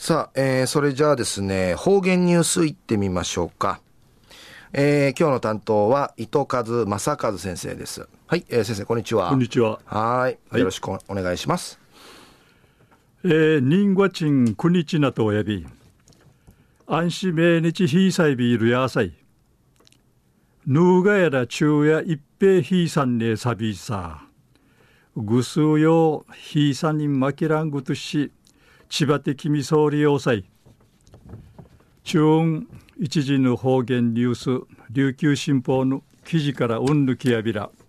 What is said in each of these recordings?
さあ、それじゃあですね、方言ニュースいってみましょうか。今日の担当は糸数正和先生です。はい、先生こんにちは。 こんにちは。 はい、よろしくお願いします。 人和賃9日なとおやび安心命日ひいさいびいるやさいぬうがやら昼夜一平ひいさんねさびさぐすうようひいさんにまきらんぐとし千葉的みそうりようさい中一時の方言ニュース琉球新報の記事からうんぬきやびら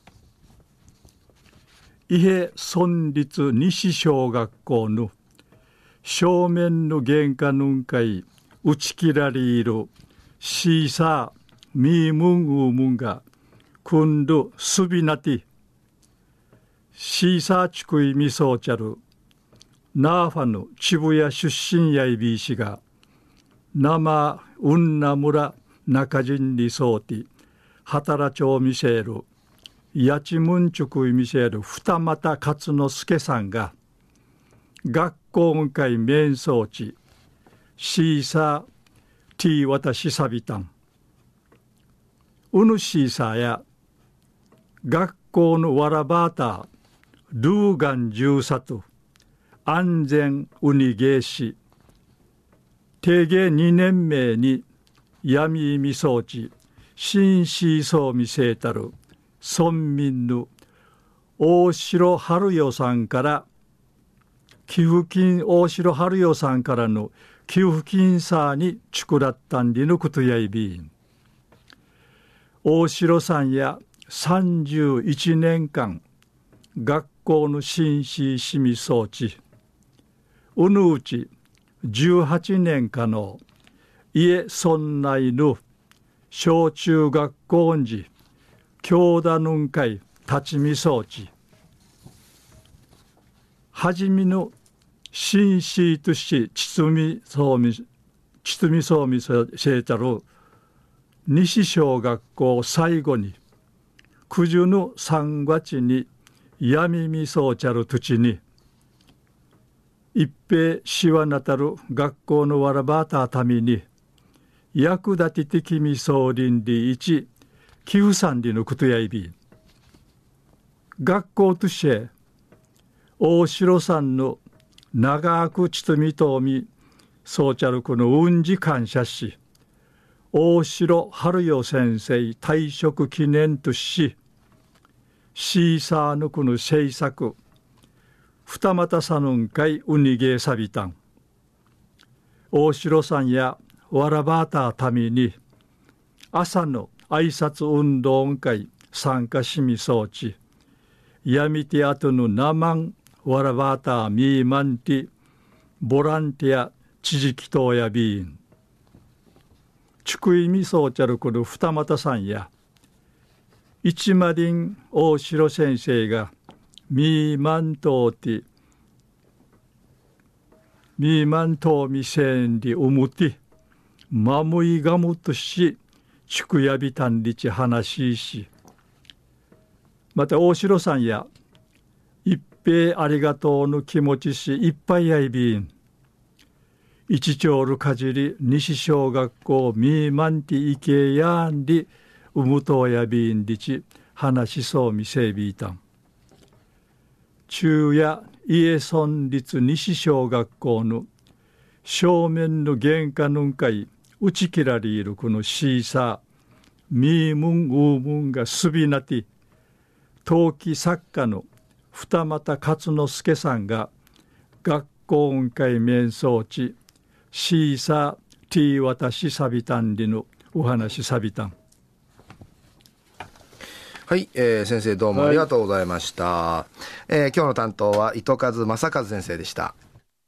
伊平村立西小学校の正面の玄関のんかい打ち切られるシーサーミームンウームンがくんどすびなてシーサーちくいみそうちゃるナーファの渋谷出身やいびいしが生うんな村中人にそうて働ちょうみせるやちむんちゅくいみせる二俣勝之助さんが学校会面相地シーサーティーわたしさびたんうぬシーサーや学校のわらばーたールーガン重里安全うにげいし定芸2年目に闇みそうち新シーソーみせいたる村民の大城春代さんから寄付金大城春代さんからの寄付金さにちくらったんりのことやいびん大城さんや31年間学校の新市しみ装置うぬうち18年間の家村内の小中学校んじ教団のんかい立ちみ装置はじめの新市とし包みそうみせいたる西小学校最後に九十の3月に闇みそうちゃる土地に一平しわなたる学校のわらばたために役立て的みそうりんり一寄付さんりのことやいび学校として大城さんの長くちとみとみそうちゃるこのうんじ感謝し大城春代先生退職記念としシーサーのこの制作二俣さぬんかいうにげさびたん大城さんやわらばたために朝の挨拶運動会参加しみそうちやみてあとのなまんわらばたみーまんてボランティア知識等やびんちくいみそうちゃるこの二俣さんや一マリン大城先生がミーマントーティミーマントーミセンリウムティマムイガムとしちくやびたんりち話しまた大城さんや一平ありがとうの気持ちしいっぱいやいびん一丁るかじり西小学校ミーマンティイケヤンリウムトーやびんりち話しそうみせびいたん中夜家村立西小学校の正面の玄関のんかい打ち切られるこのシーサーミームンウームンがすびなて陶器作家の二俣勝之助さんが学校音会面相地シーサーティーわたしさびたんりのお話さびたんはい、先生どうもありがとうございました。今日の担当は糸数正和先生でした。